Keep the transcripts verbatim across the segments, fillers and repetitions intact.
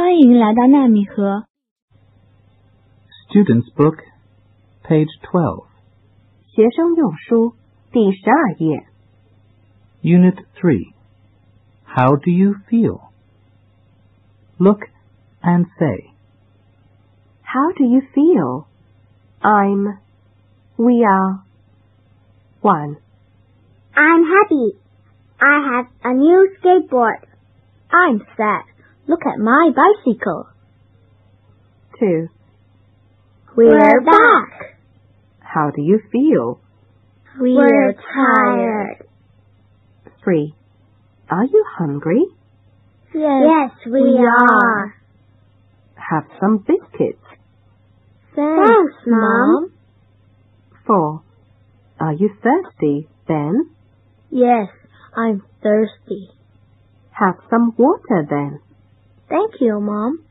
欢迎来到纳米河 Student's Book, page twelve. 学生用书第十二页 Unit three. How do you feel? Look and say. How do you feel? I'm, we are. One. I'm happy. I have a new skateboard. I'm sad. Look at my bicycle. Two. We're back. How do you feel? We're tired. Three. Are you hungry? Yes, yes we, we are. are. Have some biscuits. Thanks, Thanks Mom. Four. Are you thirsty, Ben? Yes, I'm thirsty. Have some water then. Thank you, Mom.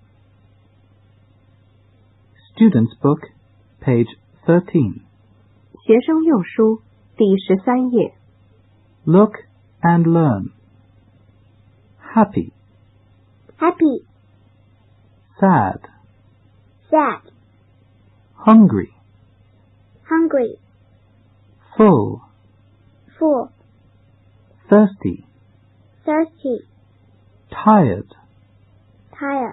Student's Book, page thirteen. 学生用书第十三页 Look and learn. Happy. Happy. Sad. Sad. Hungry. Hungry. Full. Full. Thirsty. Thirsty. Tired. Tired.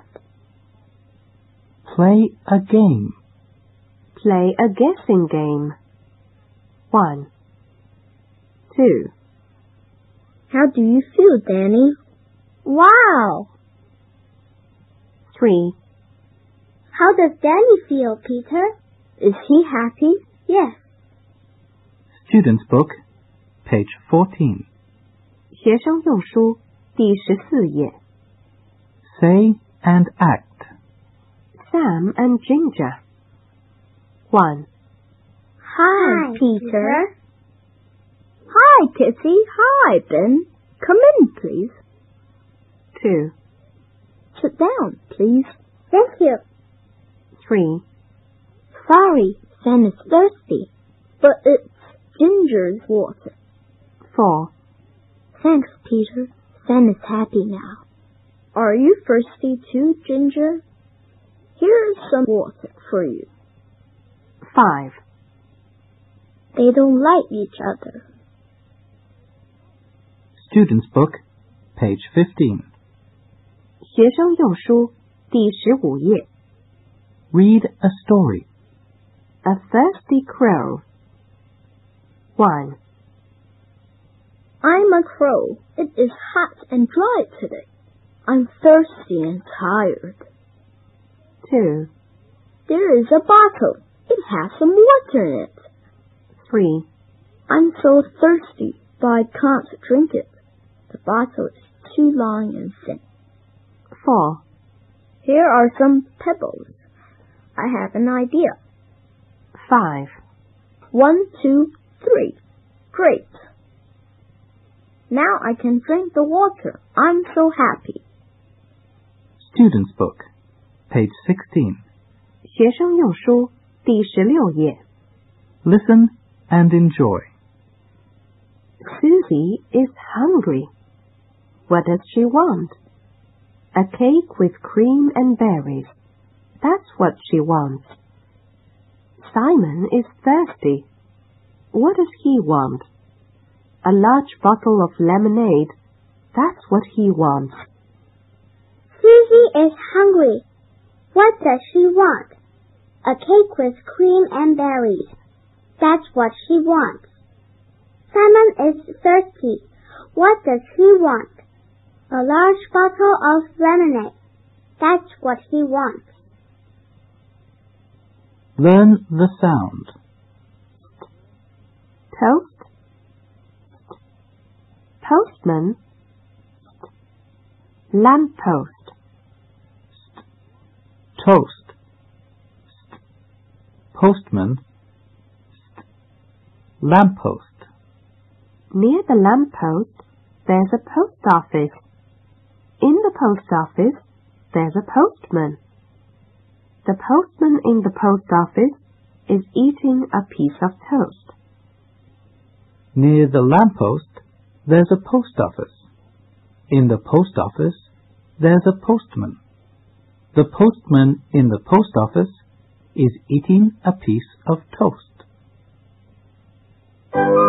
Play a game. Play a guessing game. One. Two. How do you feel, Danny? Wow! Three. How does Danny feel, Peter? Is he happy? Yes. Student's Book, page fourteen. 学生用书第十四页 Say and act. Sam and Ginger. One. Hi, Hi Peter. Peter. Hi, Kitty. Hi, Ben. Come in, please. Two. Sit down, please. Thank you. Three. Sorry, Sam is thirsty, but it's Ginger's water. Four. Thanks, Peter. Sam is happy now. Are you thirsty too, Ginger? Here's some water for you. Five. They don't like each other. Student's Book, page fifteen. 学生用书第十五页 Read a story. A thirsty crow. One. I'm a crow. It is hot and dry today. I'm thirsty and tired. Two. There is a bottle. It has some water in it. Three. I'm so thirsty, but I can't drink it. The bottle is too long and thin. Four. Here are some pebbles. I have an idea. Five. One, two, three. Great. Now I can drink the water. I'm so happy. Student's Book, page sixteen. 学生用书第十六页 Listen and enjoy. Susie is hungry. What does she want? A cake with cream and berries. That's what she wants. Simon is thirsty. What does he want? A large bottle of lemonade. That's what he wants. Susie is hungry. What does she want? A cake with cream and berries. That's what she wants. Simon is thirsty. What does he want? A large bottle of lemonade. That's what he wants. Learn the sound. Toast. Postman. Lamppost. Toast. Postman. Lamppost. Near the lamppost, there's a post office. In the post office, there's a postman. The postman in the post office is eating a piece of toast. Near the lamppost, there's a post office. In the post office, there's a postman. The postman in the post office is eating a piece of toast.